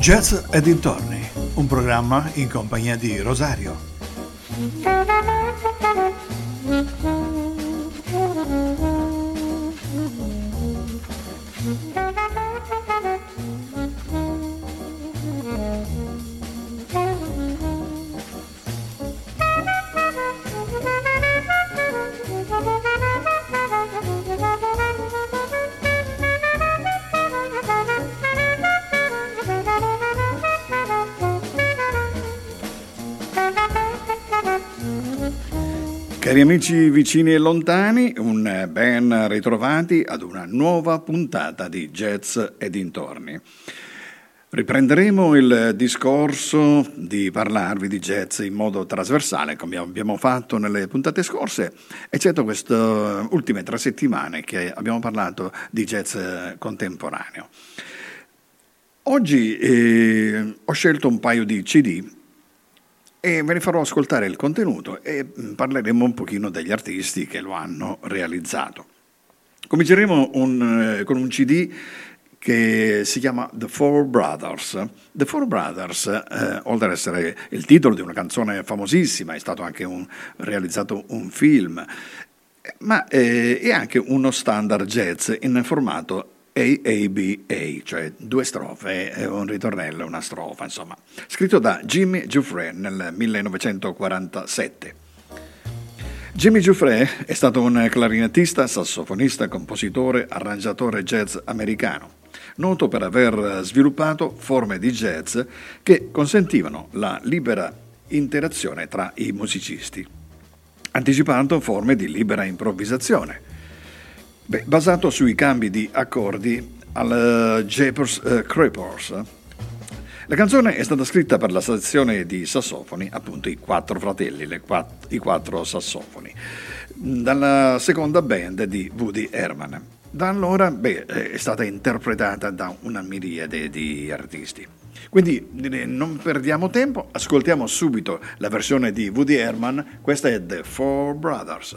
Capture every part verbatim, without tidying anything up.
Jazz e dintorni, un programma in compagnia di Rosario. Cari amici vicini e lontani, un ben ritrovati ad una nuova puntata di Jazz e dintorni. Riprenderemo il discorso di parlarvi di jazz in modo trasversale, come abbiamo fatto nelle puntate scorse, eccetto queste ultime tre settimane che abbiamo parlato di jazz contemporaneo. Oggi eh, ho scelto un paio di C D e ve ne farò ascoltare il contenuto e parleremo un pochino degli artisti che lo hanno realizzato. Cominceremo un, eh, con un C D che si chiama The Four Brothers. The Four Brothers, eh, oltre ad essere il titolo di una canzone famosissima, è stato anche un, realizzato un film, ma eh, è anche uno standard jazz in formato A A B A, cioè due strofe, un ritornello e una strofa, insomma, scritto da Jimmy Giuffre nel millenovecentoquarantasette. Jimmy Giuffre è stato un clarinettista, sassofonista, compositore, arrangiatore jazz americano, noto per aver sviluppato forme di jazz che consentivano la libera interazione tra i musicisti, anticipando forme di libera improvvisazione. Beh, basato sui cambi di accordi al uh, Jeepers uh, Creepers. La canzone è stata scritta per la sezione di sassofoni, appunto i quattro fratelli, le quatt- i quattro sassofoni, dalla seconda band di Woody Herman. Da allora beh, è stata interpretata da una miriade di artisti. Quindi non perdiamo tempo, ascoltiamo subito la versione di Woody Herman, questa è The Four Brothers.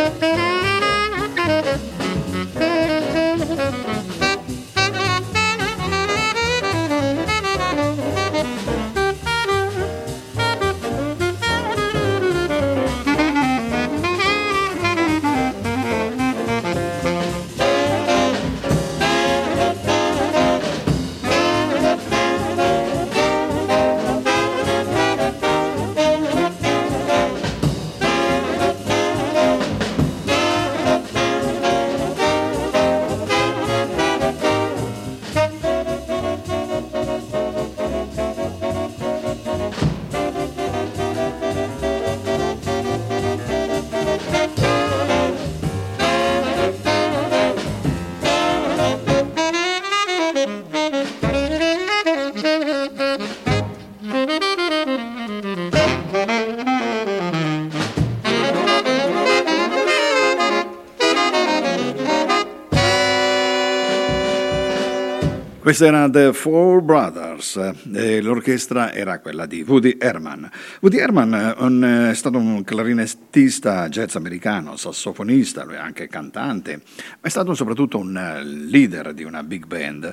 Questa era The Four Brothers e l'orchestra era quella di Woody Herman. Woody Herman un, è stato un clarinettista jazz americano, sassofonista, lui è anche cantante, ma è stato soprattutto un leader di una big band.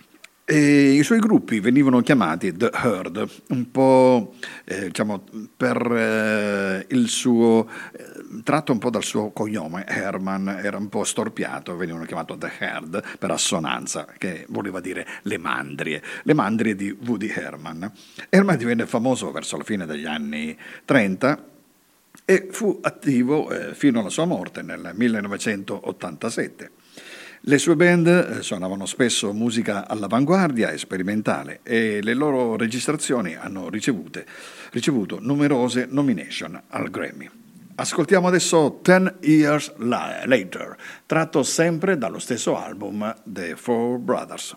E i suoi gruppi venivano chiamati The Herd, un po' eh, diciamo per eh, il suo eh, tratto un po' dal suo cognome. Herman era un po' storpiato, venivano chiamati The Herd per assonanza, che voleva dire le mandrie, le mandrie di Woody Herman. Herman divenne famoso verso la fine degli anni trenta e fu attivo eh, fino alla sua morte nel millenovecentottantasette. Le sue band suonavano spesso musica all'avanguardia e sperimentale e le loro registrazioni hanno ricevute, ricevuto numerose nomination al Grammy. Ascoltiamo adesso Ten Years Later, tratto sempre dallo stesso album The Four Brothers.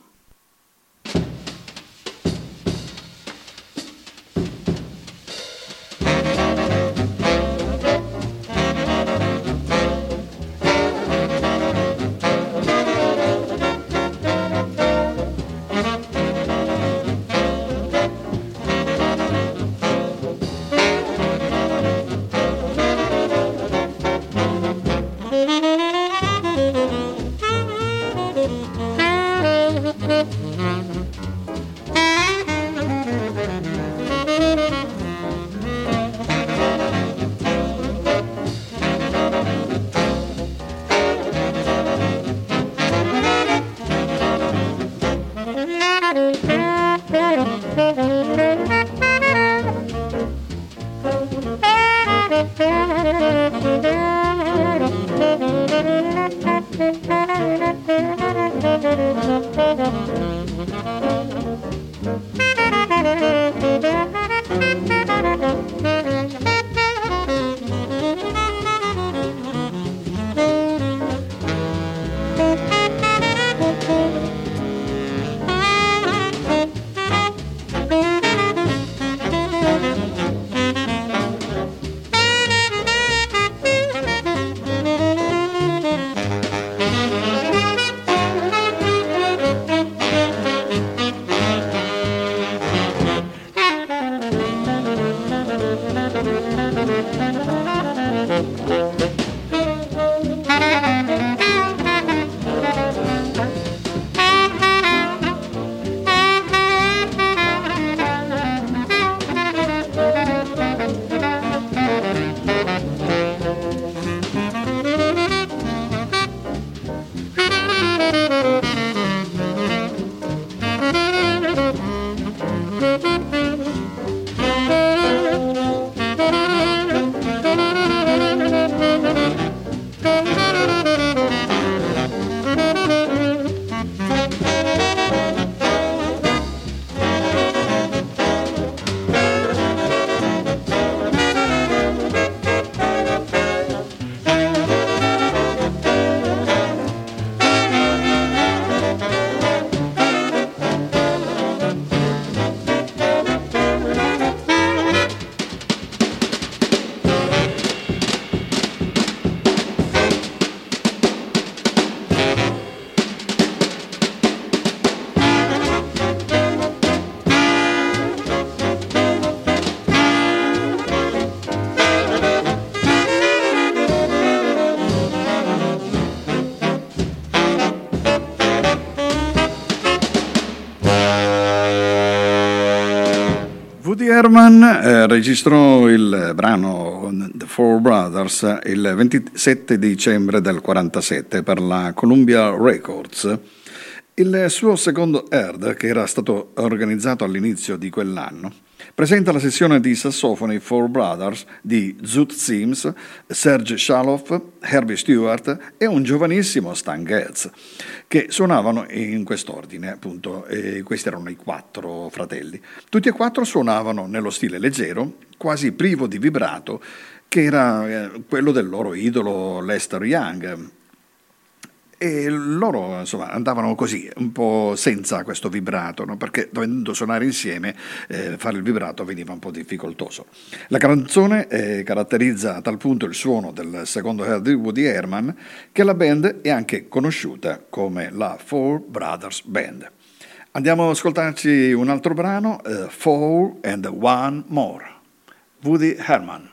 Herman eh, registrò il brano The Four Brothers il ventisette dicembre del quarantasette per la Columbia Records. Il suo secondo Heard, che era stato organizzato all'inizio di quell'anno, presenta la sessione di sassofoni Four Brothers di Zoot Sims, Serge Shaloff, Herbie Stewart e un giovanissimo Stan Getz, che suonavano in quest'ordine, appunto, e questi erano i quattro fratelli. Tutti e quattro suonavano nello stile leggero, quasi privo di vibrato, che era eh, quello del loro idolo Lester Young. E loro insomma andavano così, un po' senza questo vibrato, no? Perché dovendo suonare insieme eh, fare il vibrato veniva un po' difficoltoso. La canzone eh, caratterizza a tal punto il suono del secondo Heard di Woody Herman che la band è anche conosciuta come la Four Brothers Band. Andiamo ad ascoltarci un altro brano, uh, Four and One More, Woody Herman.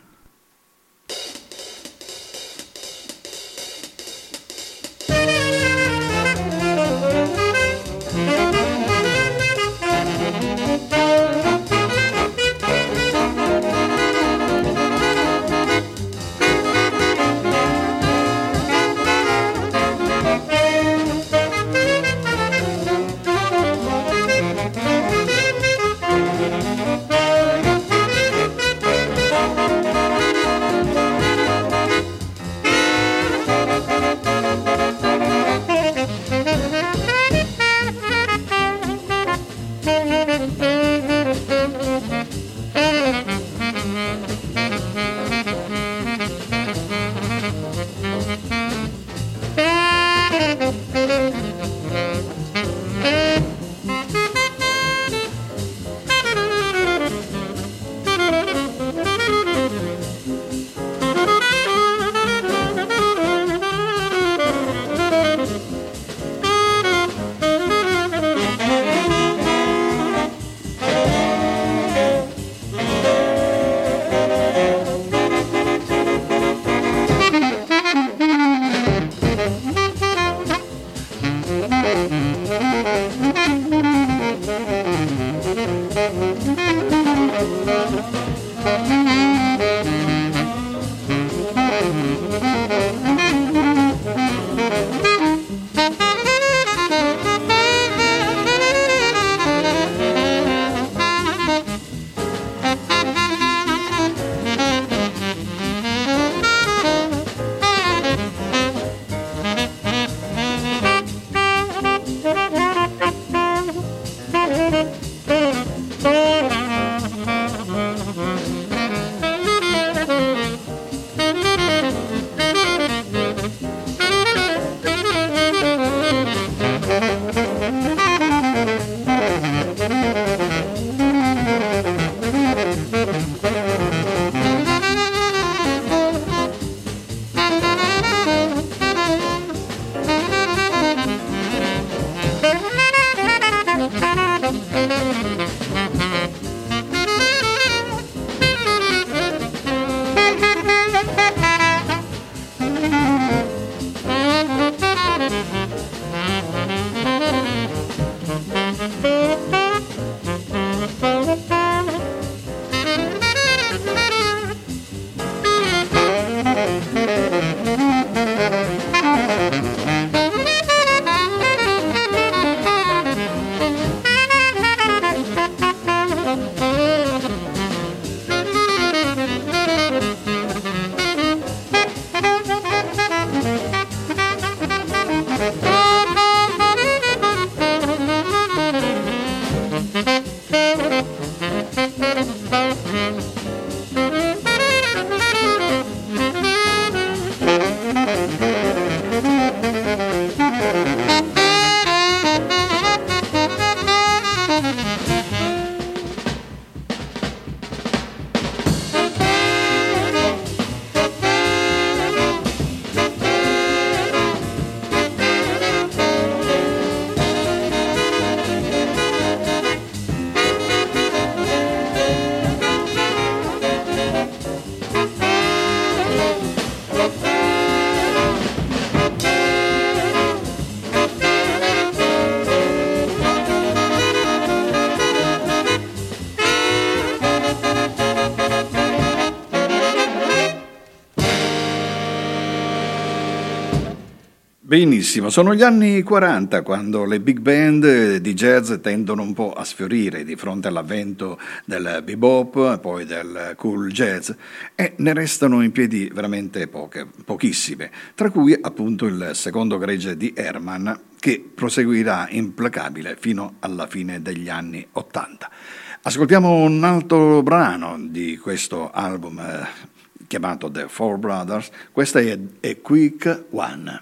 Benissimo, sono gli anni quaranta quando le big band di jazz tendono un po' a sfiorire di fronte all'avvento del bebop, poi del cool jazz, e ne restano in piedi veramente poche, pochissime, tra cui appunto il secondo gregge di Herman, che proseguirà implacabile fino alla fine degli anni ottanta. Ascoltiamo un altro brano di questo album eh, chiamato The Four Brothers, questa è A Quick One.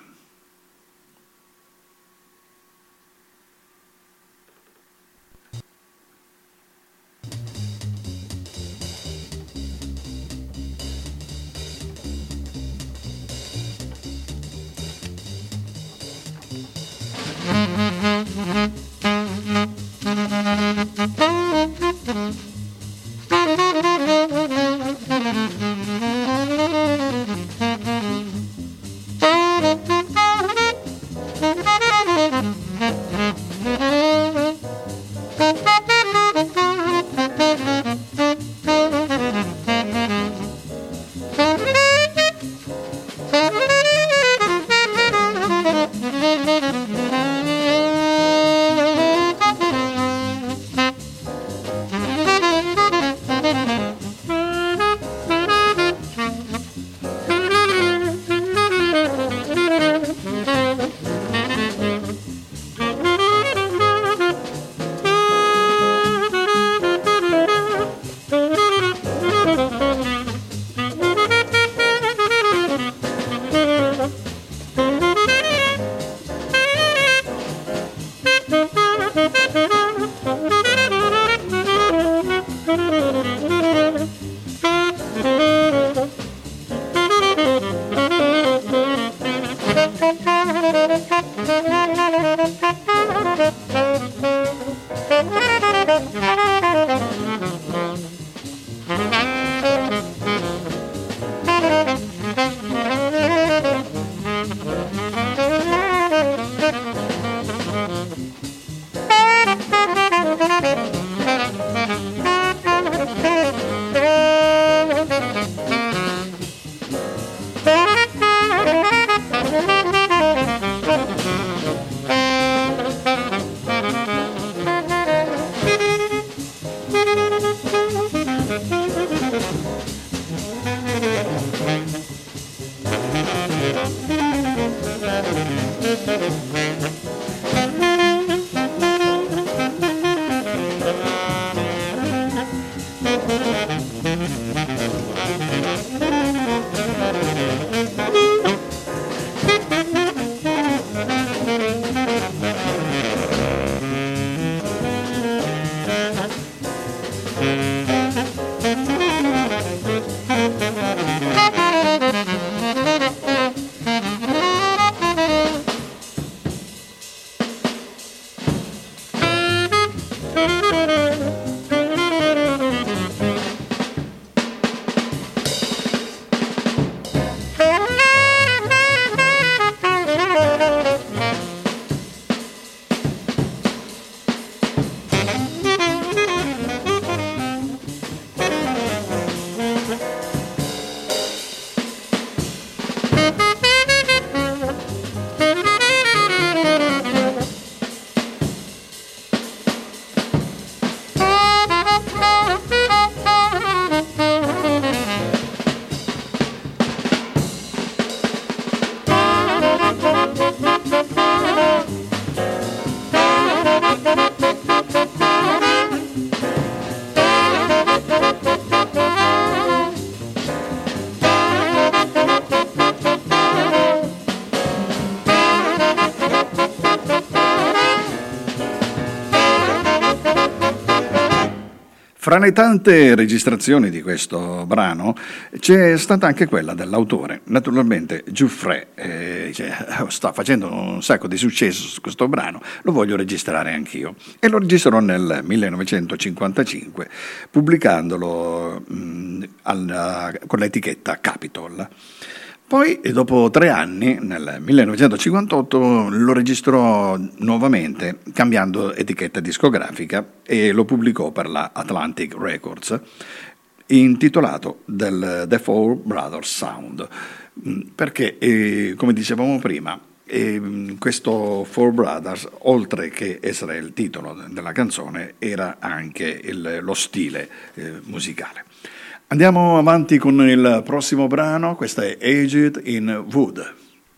Fra le tante registrazioni di questo brano c'è stata anche quella dell'autore. Naturalmente Giuffre eh, cioè, sta facendo un sacco di successo su questo brano, lo voglio registrare anch'io. E lo registrò nel millenovecentocinquantacinque, pubblicandolo mh, alla, con l'etichetta Capitol. Poi, dopo tre anni, nel millenovecentocinquantotto, lo registrò nuovamente, cambiando etichetta discografica, e lo pubblicò per la Atlantic Records, intitolato del The Four Brothers Sound, perché, eh, come dicevamo prima, E questo Four Brothers, oltre che essere il titolo della canzone, era anche il, lo stile eh, musicale. Andiamo avanti con il prossimo brano, questo è Aged in Wood.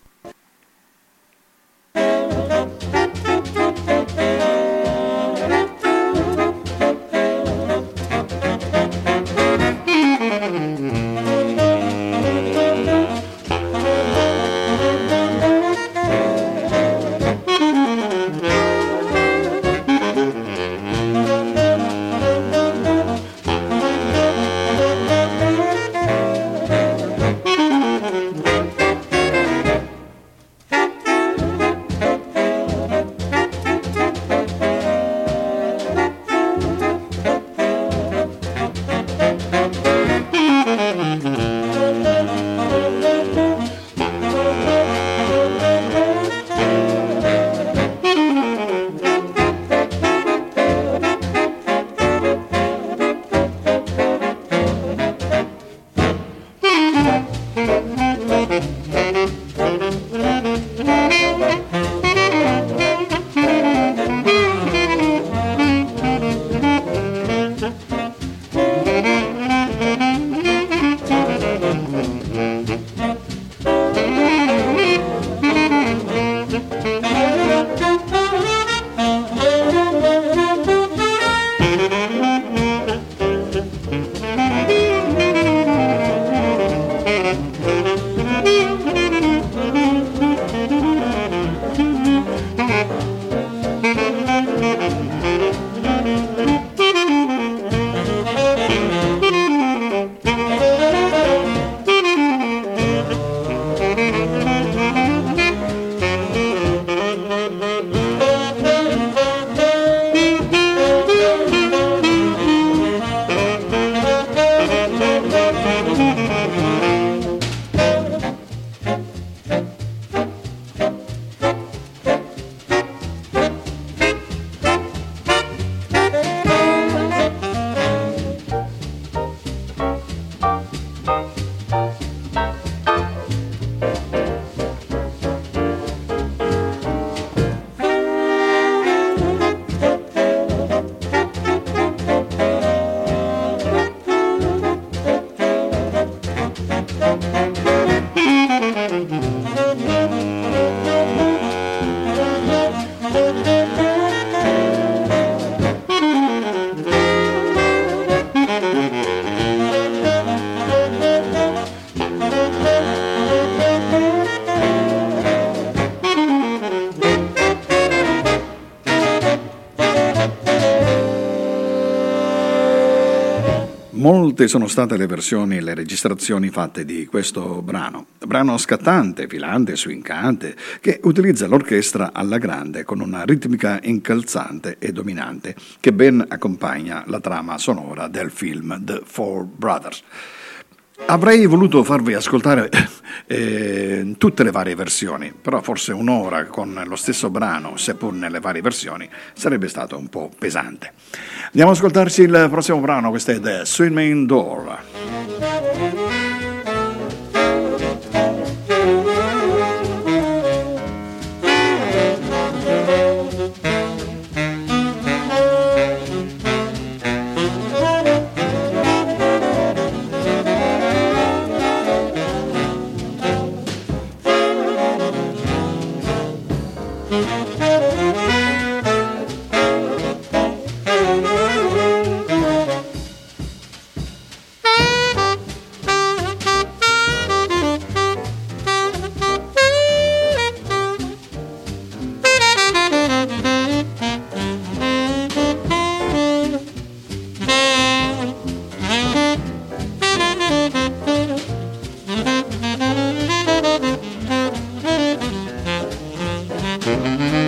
Molte sono state le versioni e le registrazioni fatte di questo brano, brano scattante, filante, swingante, che utilizza l'orchestra alla grande con una ritmica incalzante e dominante che ben accompagna la trama sonora del film The Four Brothers. Avrei voluto farvi ascoltare eh, tutte le varie versioni, però forse un'ora con lo stesso brano, seppur nelle varie versioni, sarebbe stato un po' pesante. Andiamo ad ascoltarci il prossimo brano, questo è The Swinging Door. Mm-hmm.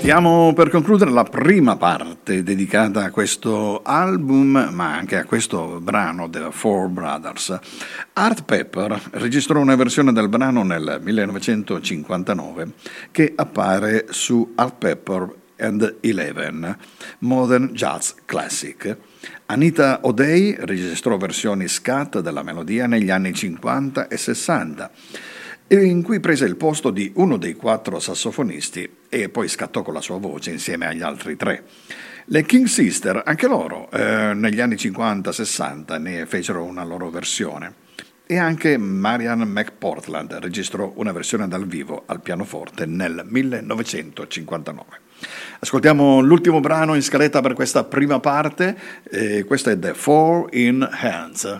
Stiamo per concludere la prima parte dedicata a questo album, ma anche a questo brano The Four Brothers. Art Pepper registrò una versione del brano nel millenovecentocinquantanove che appare su Art Pepper and Eleven, Modern Jazz Classic. Anita O'Day registrò versioni scat della melodia negli anni cinquanta e sessanta, in cui prese il posto di uno dei quattro sassofonisti e poi scattò con la sua voce insieme agli altri tre. Le King Sister, anche loro, eh, negli anni cinquanta sessanta ne fecero una loro versione. E anche Marian McPortland registrò una versione dal vivo al pianoforte nel millenovecentocinquantanove. Ascoltiamo l'ultimo brano in scaletta per questa prima parte, e questo è The Four in Hands.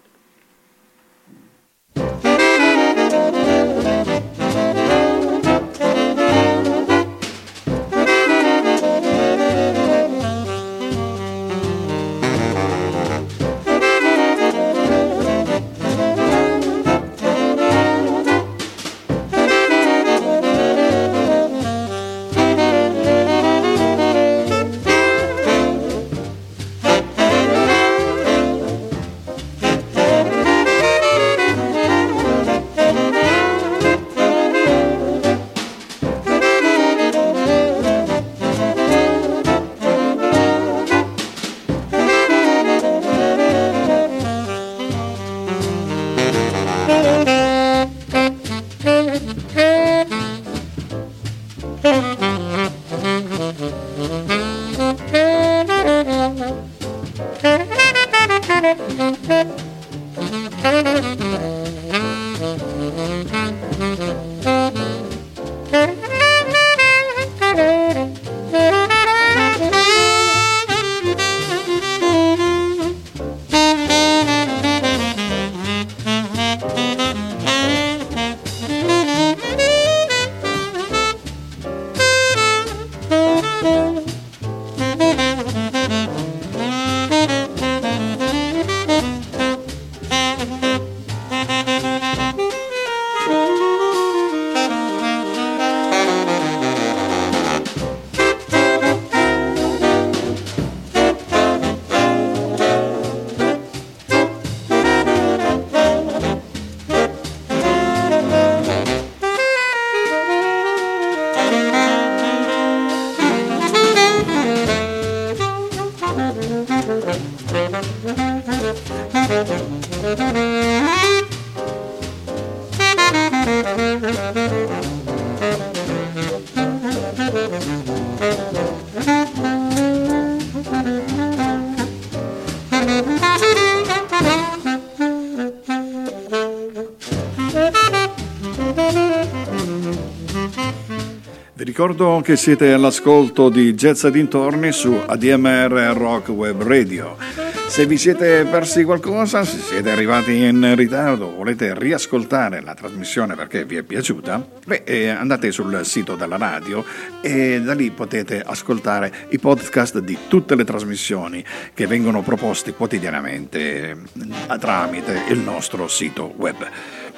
Ricordo che siete all'ascolto di Jazz e dintorni su A D M R Rock Web Radio. Se vi siete persi qualcosa, se siete arrivati in ritardo, volete riascoltare la trasmissione perché vi è piaciuta, beh, eh, andate sul sito della radio e da lì potete ascoltare i podcast di tutte le trasmissioni che vengono proposti quotidianamente eh, tramite il nostro sito web.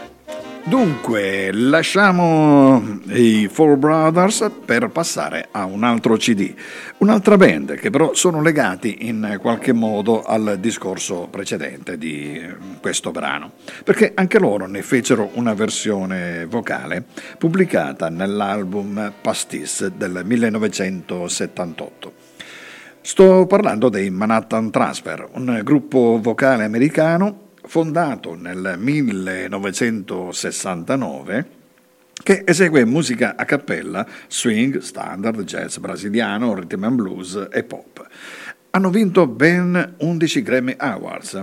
Dunque, lasciamo i Four Brothers per passare a un altro C D, un'altra band che però sono legati in qualche modo al discorso precedente di questo brano, perché anche loro ne fecero una versione vocale pubblicata nell'album Pastis del millenovecentosettantotto. Sto parlando dei Manhattan Transfer, un gruppo vocale americano fondato nel millenovecentosessantanove, che esegue musica a cappella, swing, standard, jazz brasiliano, rhythm and blues e pop. Hanno vinto ben undici Grammy Awards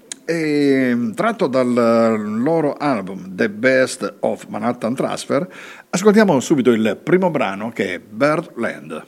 e, tratto dal loro album The Best of Manhattan Transfer, ascoltiamo subito il primo brano, che è Birdland.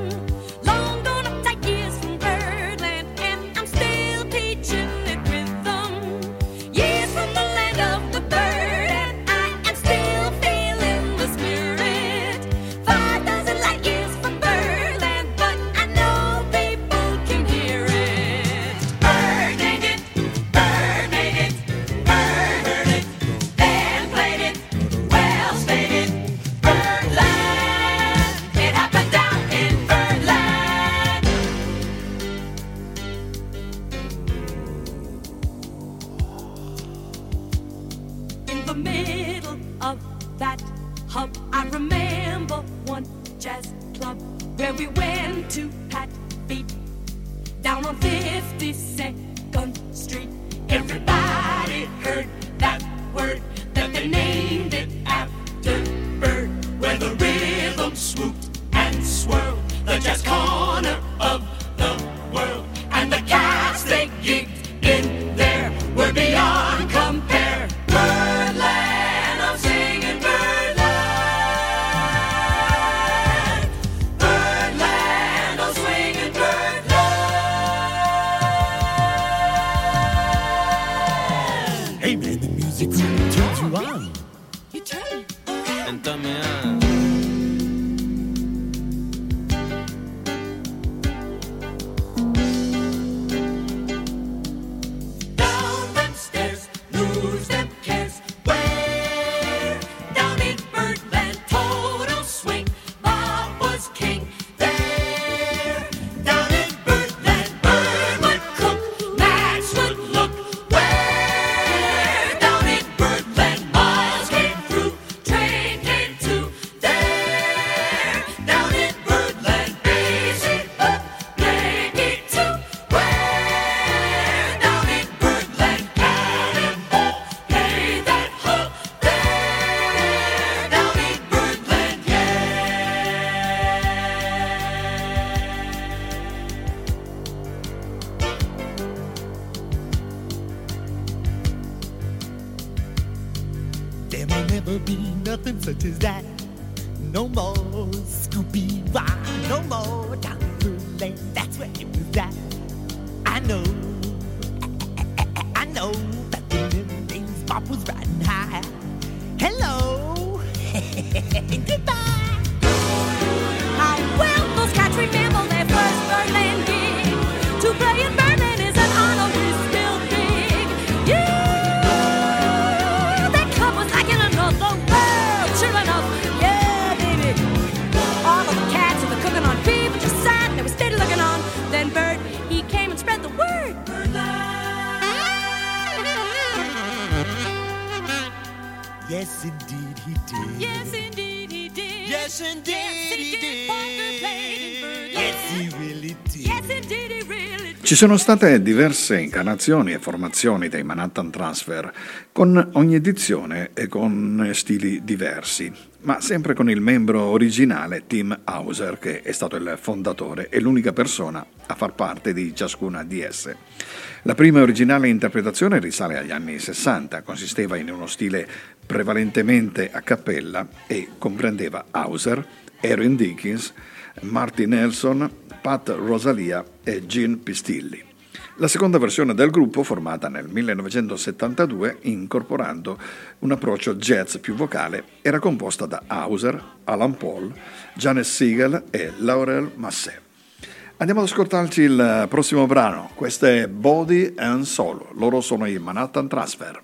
Long gone up tight years from Birdland, and I'm still teaching it rhythm. hub. I remember one jazz club where we went to pat feet down on fifty-second Street. Everybody heard that word that they named it after Bird, where the rhythm swooped and swirled, the jazz corner of the world. And the cats they gigged in there were beyond compare. Birdland, I'm singing Birdland. Birdland, I'm swinging Birdland. Hey man, the music really turns you on. You turn. And tell me on. There may never be nothing such as that. No more Scooby Wah, no more Doctor Lane. That's where it was at. I know, I know that the little days Bob was riding high. Hello, goodbye. How well those cats remember their first Birdland gig. To play in Birdland is an honor we still big. Yeah, that club was like in another world. Sure enough, yeah, baby. All of the cats and the cooking on people just sat and they were steady looking on. Then Bird, he came and spread the word. Yes, indeed he did. Yes, indeed he did. Yes, indeed Yes, he did. Parker played in Birdland. Yes, he really did. Yes, indeed he really did. Ci sono state diverse incarnazioni e formazioni dei Manhattan Transfer, con ogni edizione e con stili diversi, ma sempre con il membro originale Tim Hauser, che è stato il fondatore e l'unica persona a far parte di ciascuna di esse. La prima e originale interpretazione risale agli anni sessanta, consisteva in uno stile prevalentemente a cappella e comprendeva Hauser, Erin Dickens, Marty Nelson, Pat Rosalia e Gene Pistilli. La seconda versione del gruppo, formata nel millenovecentosettantadue, incorporando un approccio jazz più vocale, era composta da Hauser, Alan Paul, Janet Siegel e Laurel Massé. Andiamo ad ascoltarci il prossimo brano. Questo è Body and Soul. Loro sono i Manhattan Transfer.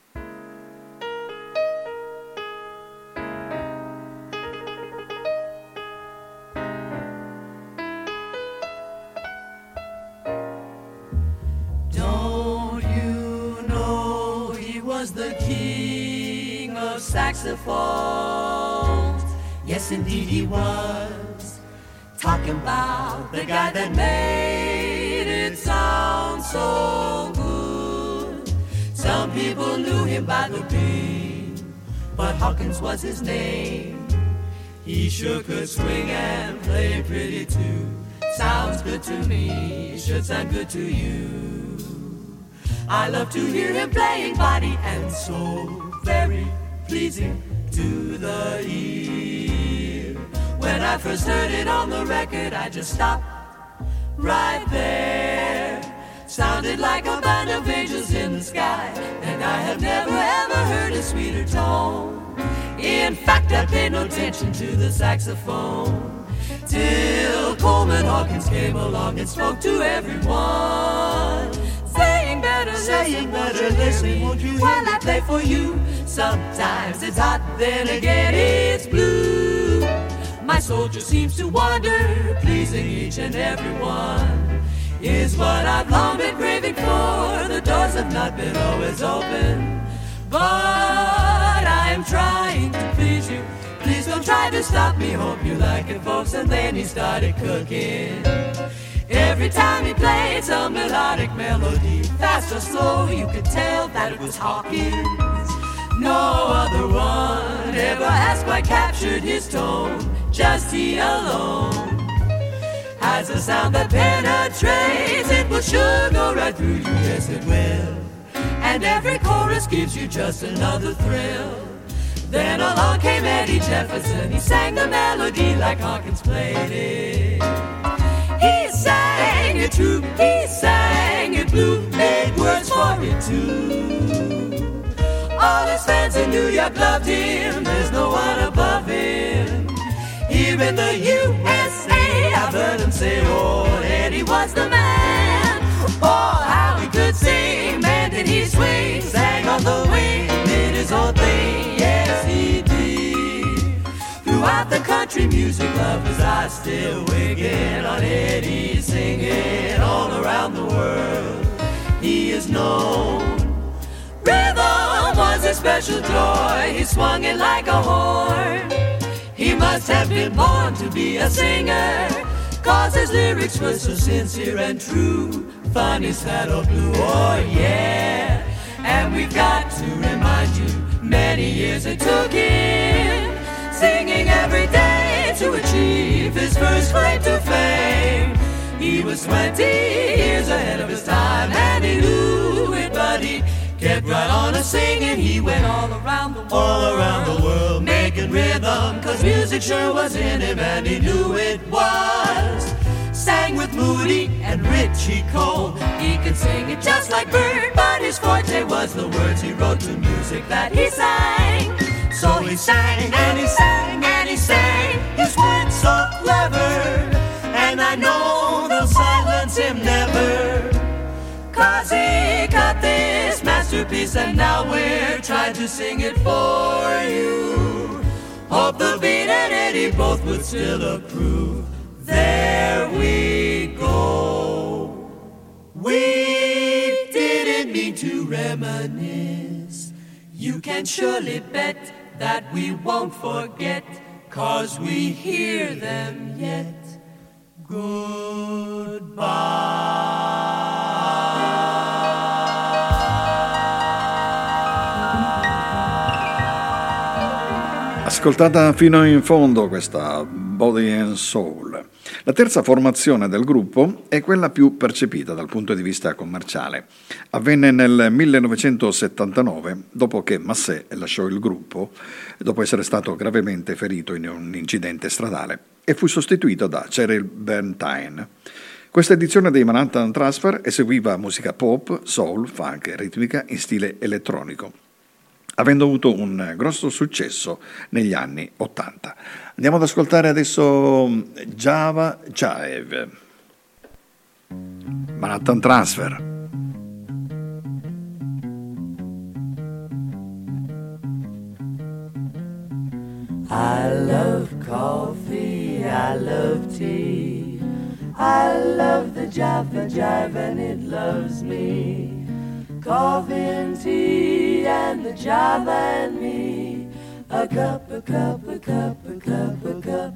Don't you know he was the king of saxophones? Yes, indeed he was. Talking about the guy that made it sound so good. Some people knew him by the beat, but Hawkins was his name. He sure could swing and play pretty too. Sounds good to me, should sound good to you. I love to hear him playing body and soul, very pleasing to the ear. When I first heard it on the record, I just stopped right there. Sounded like a band of angels in the sky, and I have never ever heard a sweeter tone. In fact, I paid no attention to the saxophone till Coleman Hawkins came along and spoke to everyone, saying better, saying better, listen, won't you while I play for you? Sometimes it's hot, then again it's blue. My soul just seems to wander, pleasing each and every one, is what I've long been craving for. The doors have not been always open, but I'm trying to please you, try to stop me, hope you like it, folks. And then he started cooking. Every time he played some melodic melody, fast or slow, you could tell that it was Hawkins. No other one ever has quite captured his tone, just he alone has a sound that penetrates. It will sure go right through you, yes it will. And every chorus gives you just another thrill. Then along came Eddie Jefferson, he sang the melody like Hawkins played it. He sang it true, he sang it blue, made words for it too. All his fans in New York loved him, there's no one above him. Here in the U S A, I've heard him say, oh, Eddie was the man. Oh, how he could sing, man did he swing, sang on the wing, did his own thing, yes he did. Throughout the country music lovers are still wigging on Eddie, singing all around the world. He is known. Rhythm was a special joy, he swung it like a horn. He must have been born to be a singer, cause his lyrics were so sincere and true. Funny saddle blue, oh yeah. And we've got to remind you, many years it took him, singing every day to achieve his first claim to fame. He was twenty years ahead of his time, and he knew it, but he kept right on a singing. He went all around the world, all around the world, making rhythm, cause music sure was in him, and he knew it was. Sang with Moody and Richie Cole, he could sing it just like Bird, but his forte was the words he wrote to music that he sang. So he sang and he sang and he sang, his words so clever, and I know they'll silence him never, cause he cut this masterpiece, and now we're trying to sing it for you. Hope the Beat and Eddie both would still approve. There we go. We didn't mean to reminisce. You can surely bet that we won't forget, cause we hear them yet. Goodbye. Ascoltata fino in fondo questa Body and Soul. La terza formazione del gruppo è quella più percepita dal punto di vista commerciale. Avvenne nel millenovecentosettantanove, dopo che Massé lasciò il gruppo, dopo essere stato gravemente ferito in un incidente stradale, e fu sostituito da Cheryl Bernstein. Questa edizione dei Manhattan Transfer eseguiva musica pop, soul, funk e ritmica in stile elettronico, avendo avuto un grosso successo negli anni ottanta. Andiamo ad ascoltare adesso Java Jive, Manhattan Transfer. I love coffee, I love tea, I love the Java Jive and it loves me. Coffee and tea and the Java and me, a cup, a cup, a cup, a cup, a cup.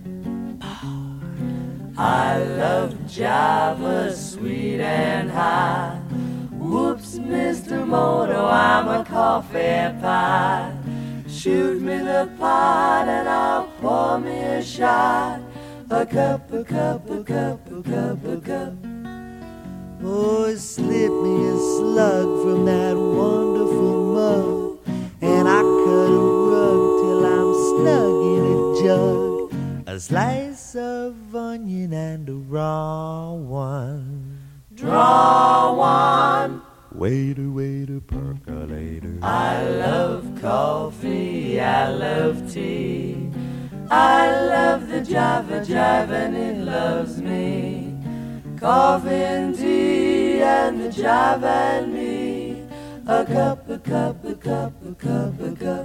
I love Java, sweet and high. Whoops, Mister Moto, I'm a coffee pie. Shoot me the pot and I'll pour me a shot. A cup, a cup, a cup, a cup, a cup. Oh, slip me a slug from that wonderful mug, and I cut a rug till I'm snug in a jug. A slice of onion and a raw one. Draw one. Waiter, waiter, percolator. I love coffee, I love tea, I love the Java Jive and it loves me. Coffee and tea and the Java and me, a cup, a cup, a cup, a cup, a cup.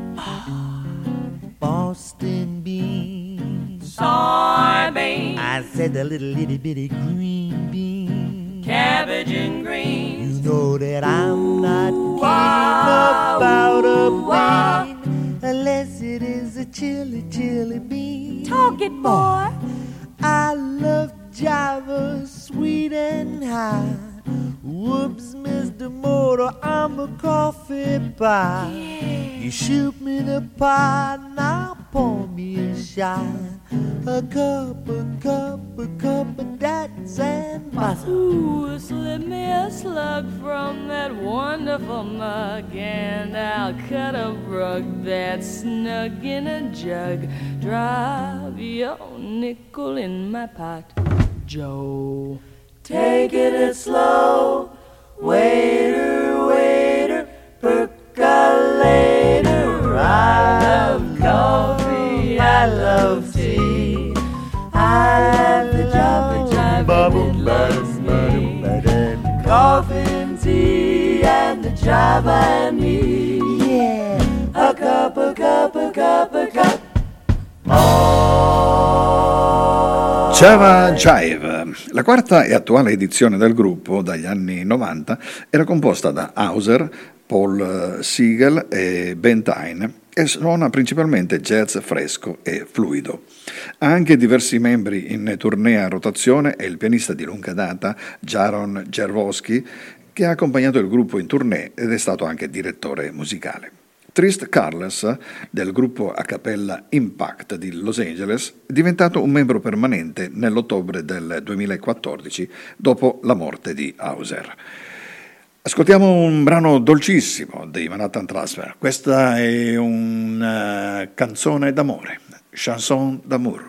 Boston beans, Soybeans, I said the little itty bitty green bean. cabbage and greens. You know that I'm not kidding Wow, about a wow. bean, unless it is a chili chili, chili bean. Talk it, boy. I love Java, sweet and high. Whoops, Mister Motor, I'm a coffee pie. Yeah. You shoot me the pie, now pour me a shine. A cup, a cup, a cup of that and butter. Ooh, slip me a slug from that wonderful mug, and I'll cut a rug that's snug in a jug. Drop your nickel in my pot, Joe. Take it slow, waiter, waiter, percolator. I love coffee, I love tea. I love the java jive and it loves me. Coffee and tea and the java and me. Yeah. A cup, a cup, a cup, a cup. Java Jive, la quarta e attuale edizione del gruppo dagli anni novanta, era composta da Hauser, Paul Siegel e Ben Tyne e suona principalmente jazz fresco e fluido. Ha anche diversi membri in tournée a rotazione e il pianista di lunga data Jaron Jervosky, che ha accompagnato il gruppo in tournée ed è stato anche direttore musicale. Trist Carles, del gruppo a cappella Impact di Los Angeles, è diventato un membro permanente nell'ottobre del duemilaquattordici, dopo la morte di Hauser. Ascoltiamo un brano dolcissimo dei Manhattan Transfer. Questa è una canzone d'amore, chanson d'amour.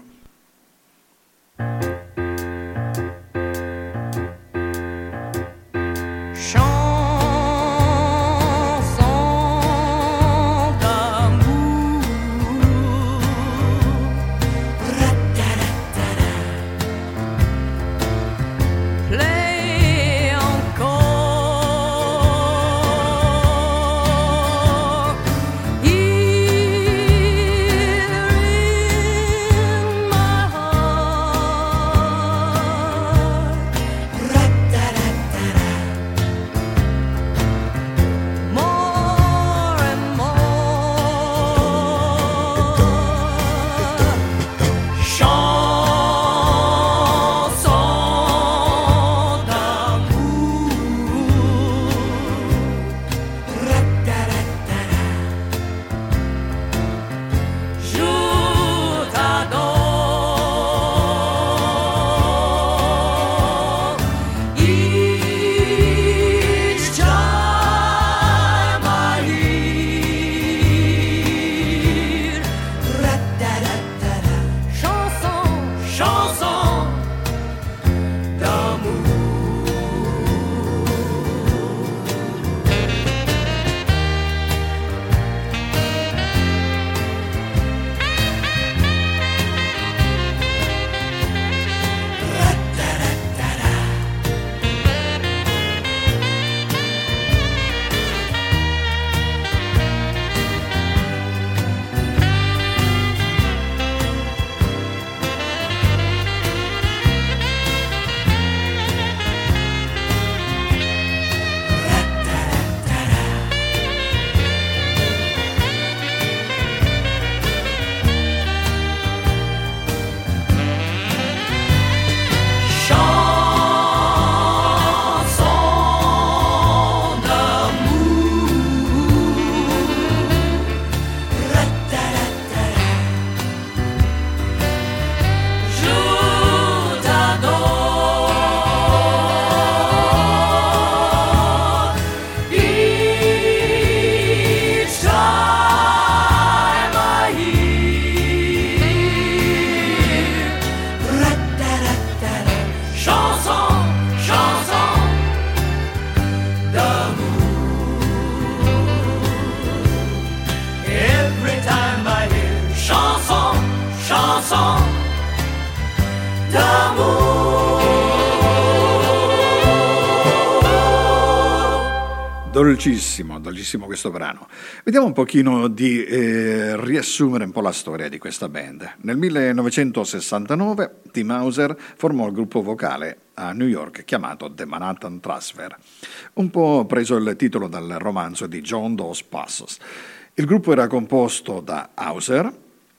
Dolcissimo, dolcissimo questo brano. Vediamo un pochino di eh, riassumere un po' la storia di questa band. Nel millenovecentosessantanove Tim Hauser formò il gruppo vocale a New York chiamato The Manhattan Transfer, un po' preso il titolo dal romanzo di John Dos Passos. Il gruppo era composto da Hauser,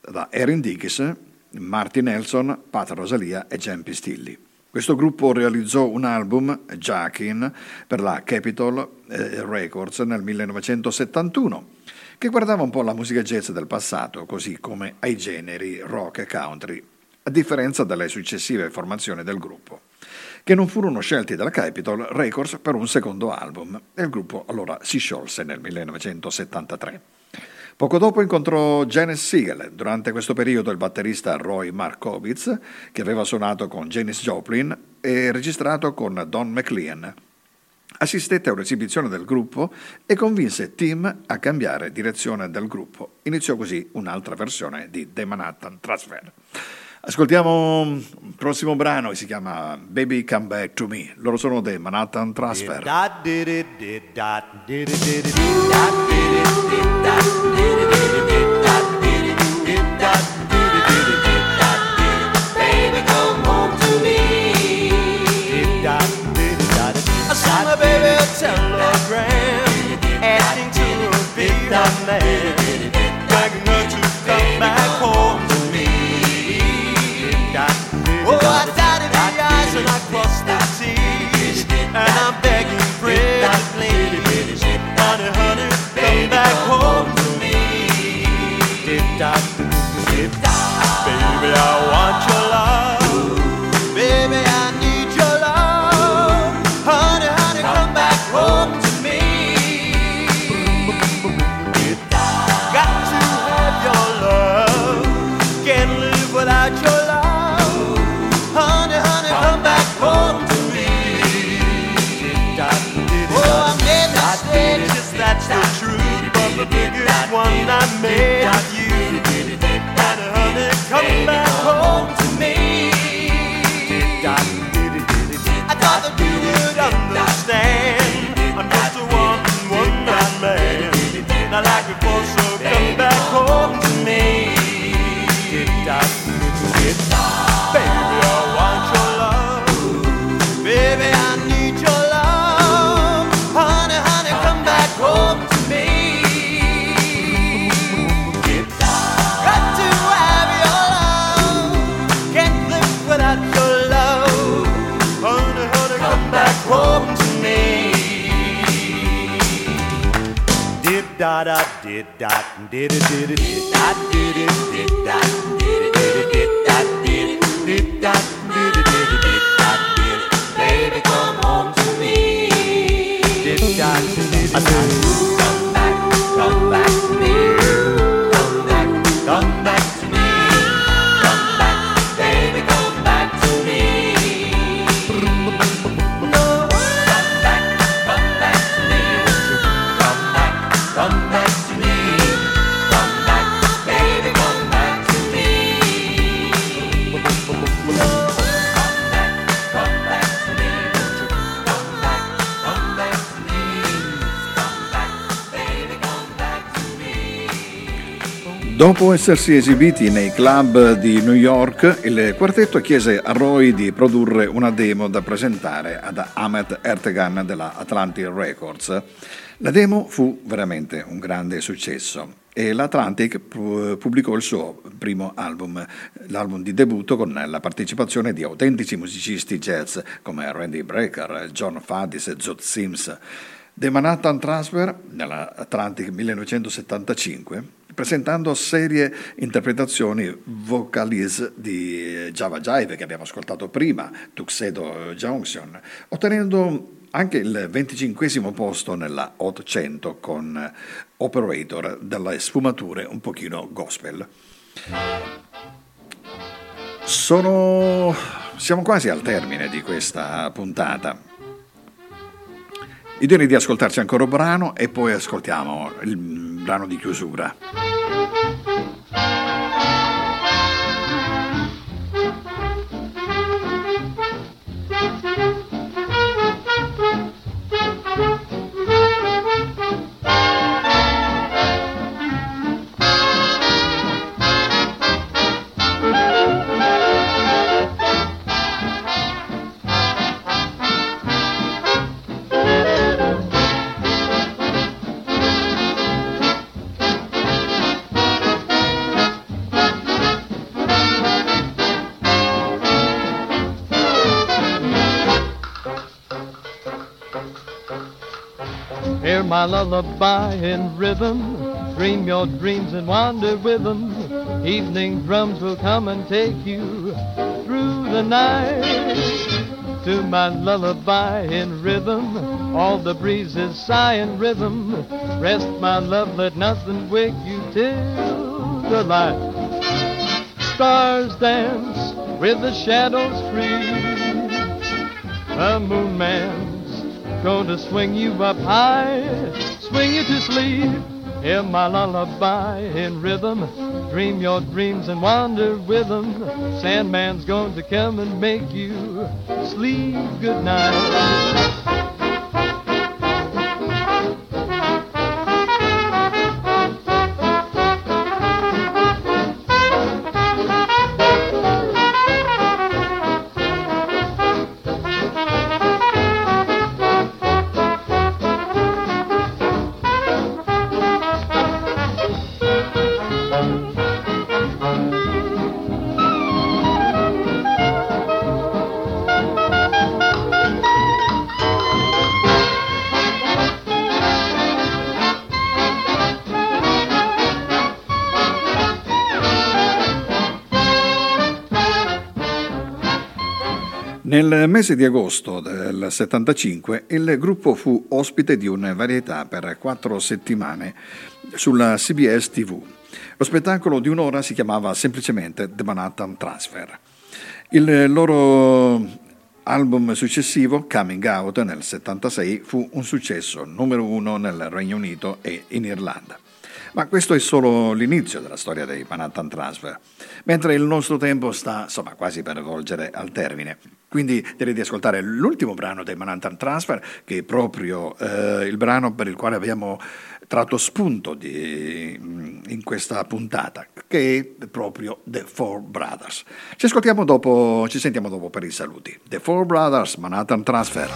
da Erin Dickies, Marty Nelson, Pat Rosalia e Jen Pistilli. Questo gruppo realizzò un album, Jackin, per la Capitol Records nel millenovecentosettantuno, che guardava un po' la musica jazz del passato, così come ai generi rock e country, a differenza delle successive formazioni del gruppo, che non furono scelti dalla Capitol Records per un secondo album, e il gruppo allora si sciolse nel millenovecentosettantatré. Poco dopo incontrò Janis Siegel. Durante questo periodo il batterista Roy Markowitz, che aveva suonato con Janis Joplin e registrato con Don McLean, assistette a un'esibizione del gruppo e convinse Tim a cambiare direzione del gruppo. Iniziò così un'altra versione di The Manhattan Transfer. Ascoltiamo il prossimo brano che si chiama Baby Come Back to Me. Loro sono The Manhattan Transfer. Telegram asking to be a man, begging her to come back home to me. Oh, I dotted the I's and I crossed the T's, and I'm begging pretty please, honey, honey, come back home to me. Baby, I want your love, baby, I need your love, honey, honey, come back home to me. Got to have your love, can't live without your love, honey, honey, come back home to me. Oh, I made mistakes, that's the truth, but the biggest one I made of you, honey, honey, come back home to me. I thought that you would understand, I'm just a one, one man man, not like before, so come back home to me. Baby, I want your love, baby, I need your love, honey, honey, come back home to me. Got to have your love, can't live without your love, honey, honey, come back home to me. Did da da did da did it did it did da did it did da did it did it did da did it did da did it did it did da did it. Baby, come home to me. Did da did it did. Come back, come back to me. Come back, come back to me. Come back, baby, come back to me. No, come back, come back to me. Come back, come back to me. Come back, baby, come back to me. No, come back, come back to me. Come back, come back to me. Come back, baby, come back to me. Dopo essersi esibiti nei club di New York, il quartetto chiese a Roy di produrre una demo da presentare ad Ahmet Ertegun della Atlantic Records. La demo fu veramente un grande successo e l'Atlantic pubblicò il suo primo album, l'album di debutto, con la partecipazione di autentici musicisti jazz come Randy Brecker, John Faddis e Zoot Sims. The Manhattan Transfer nell'Atlantic millenovecentosettantacinque, presentando serie interpretazioni vocalise di Java Jive che abbiamo ascoltato prima, Tuxedo Junction, ottenendo anche il venticinquesimo posto nella Hot cento con Operator, dalle sfumature un pochino gospel. Sono... Siamo quasi al termine di questa puntata. Io direi di ascoltarci ancora un brano e poi ascoltiamo il brano di chiusura. Hear my lullaby in rhythm, dream your dreams and wander with them. Evening drums will come and take you through the night. To my lullaby in rhythm, all the breezes sigh in rhythm. Rest my love, let nothing wake you till the light. Stars dance with the shadows free. A moon man's going to swing you up high, swing you to sleep. Hear my lullaby in rhythm, dream your dreams and wander with them. Sandman's going to come and make you sleep good night. Nel mese di agosto del settantacinque il gruppo fu ospite di una varietà per quattro settimane sulla C B S T V. Lo spettacolo di un'ora si chiamava semplicemente The Manhattan Transfer. Il loro album successivo, Coming Out, nel settantasei, fu un successo numero uno nel Regno Unito e in Irlanda. Ma questo è solo l'inizio della storia dei Manhattan Transfer, mentre il nostro tempo sta insomma quasi per volgere al termine. Quindi direi di ascoltare l'ultimo brano dei Manhattan Transfer, che è proprio eh, il brano per il quale abbiamo tratto spunto di, in questa puntata, che è proprio The Four Brothers. Ci ascoltiamo dopo, ci sentiamo dopo per i saluti. The Four Brothers, Manhattan Transfer.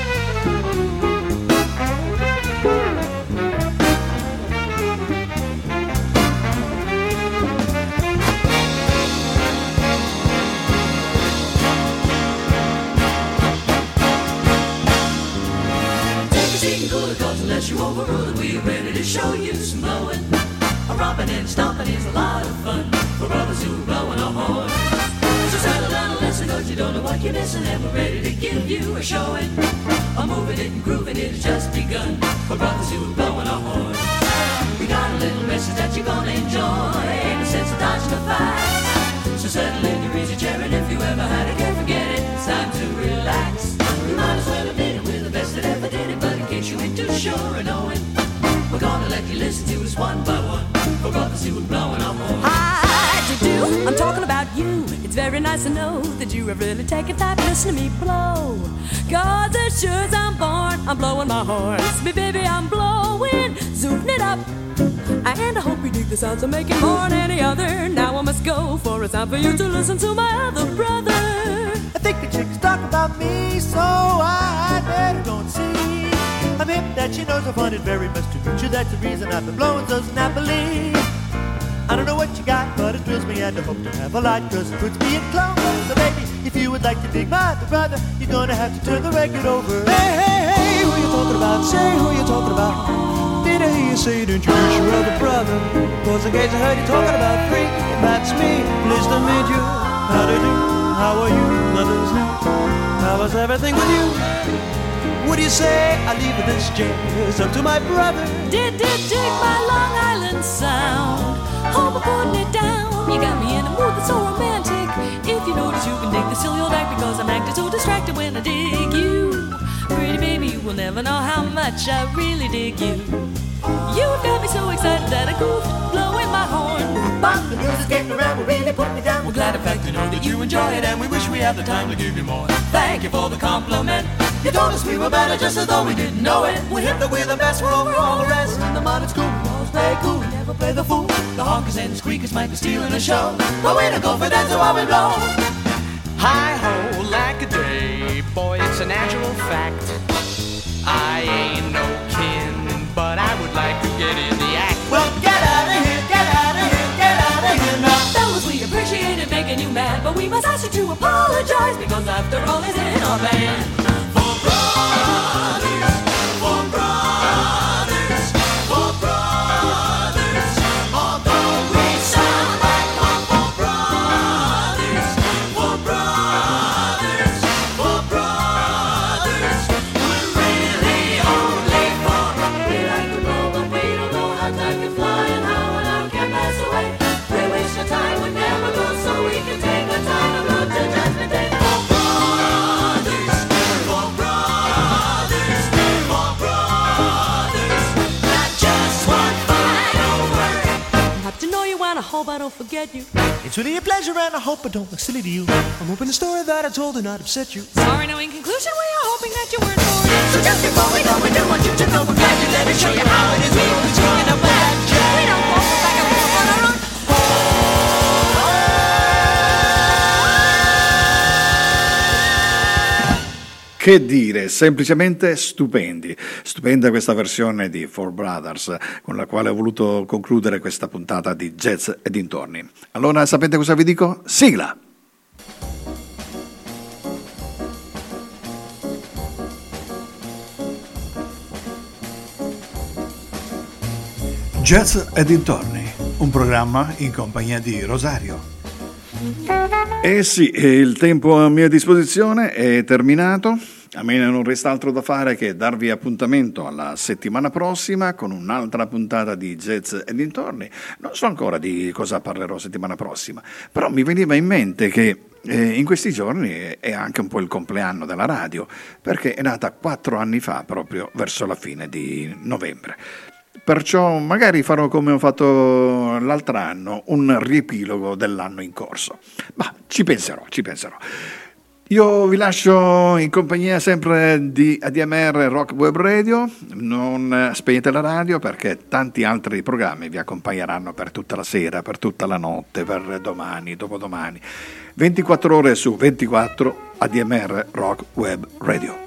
Unless you overrule it, we're ready to show you some blowing. A romping and stomping is a lot of fun for brothers who are blowing a horn. So settle down and listen, cause you don't know what you're missing, and we're ready to give you a showing. A moving it and grooving it has just begun for brothers who are blowing a horn. We got a little message that you're gonna enjoy, ain't no sense of dodging the fight. So settle in your easy chair, and if you ever had it, can't forget it, it's time to relax. You might as well admit it, we're the best that ever did it, but in case you ain't too sure of knowing, we're gonna let you listen to us one by one, for brothers who are blowing our horn. Hi, do do, I'm talking about you. It's very nice to know that you have really taken time to listen to me blow. Cause as sure as I'm born, I'm blowing my horn. Me baby, I'm blowing, zooming it up. And I hope you dig the sounds I'm making more than any other. Now I must go, for it's time for you to listen to my other brother. I think the chick's talking about me, so I better go and see. I'm hip that she knows I find it very much to meet you. That's the reason I've been blowing so snappily. I don't know what you got, but it thrills me and I hope to have a lot, cause it puts me in clover. So baby, if you would like to dig my other brother, you're gonna have to turn the record over. Hey, hey, hey, who you talking about? Say who you talking about. Did I hear you say to introduce your other brother? Cause in case I heard you talking about three, that's me. Pleased to meet you. How do you do? How are you? Let us know. How was everything with you? What do you say I leave this jazz up to my brother? Did, did, dig my Long Island sound. Hope I'm putting it down. You got me in a mood that's so romantic. If you notice, you can dig the silly old act, because I'm acting so distracted when I dig you. Pretty baby, you will never know how much I really dig you. You've got me so excited that I goofed, blowing my horn. But the music's getting around, we're really putting it down. We're glad in fact to know that you enjoy it, and we wish we had the time to give you more. Thank you for the compliment. You told us we were better just as though we didn't know it. We're hip that we're the best, we're over all the rest. In the mud it's cool, we always play cool, we never play the fool. The honkers and the squeakers might be stealing a show, but we don't go for that, so why we blow. Hi-ho, like a day, boy, it's a natural fact. I ain't no kin, but I would like to get in the act. Well, get out of here, get out of here, get out of here now. Fellas, we appreciated making you mad, but we must ask you to apologize, because after all, he's in our band. For brothers, for brothers. I don't forget you. It's really a pleasure and I hope I don't look silly to you. I'm hoping the story that I told did not upset you. Sorry, no, in conclusion, we are hoping that you weren't bored. So just before we go, we do want you to know we're glad you let us show you how it is. We always taking up with that jazz. We don't walk back and forth on our own. Che dire, semplicemente stupendi. Stupenda questa versione di Four Brothers con la quale ho voluto concludere questa puntata di Jazz e dintorni. Allora sapete cosa vi dico? Sigla! Jazz e dintorni, un programma in compagnia di Rosario. Eh sì, il tempo a mia disposizione è terminato. A me non resta altro da fare che darvi appuntamento alla settimana prossima con un'altra puntata di Jazz e dintorni. Non so ancora di cosa parlerò settimana prossima, però mi veniva in mente che eh, in questi giorni è anche un po' il compleanno della radio, perché è nata quattro anni fa, proprio verso la fine di novembre. Perciò magari farò come ho fatto l'altro anno, un riepilogo dell'anno in corso. Ma ci penserò, ci penserò. Io vi lascio in compagnia sempre di A D M R Rock Web Radio. Non spegnete la radio perché tanti altri programmi vi accompagneranno per tutta la sera, per tutta la notte, per domani, dopodomani. ventiquattro ore su ventiquattro A D M R Rock Web Radio.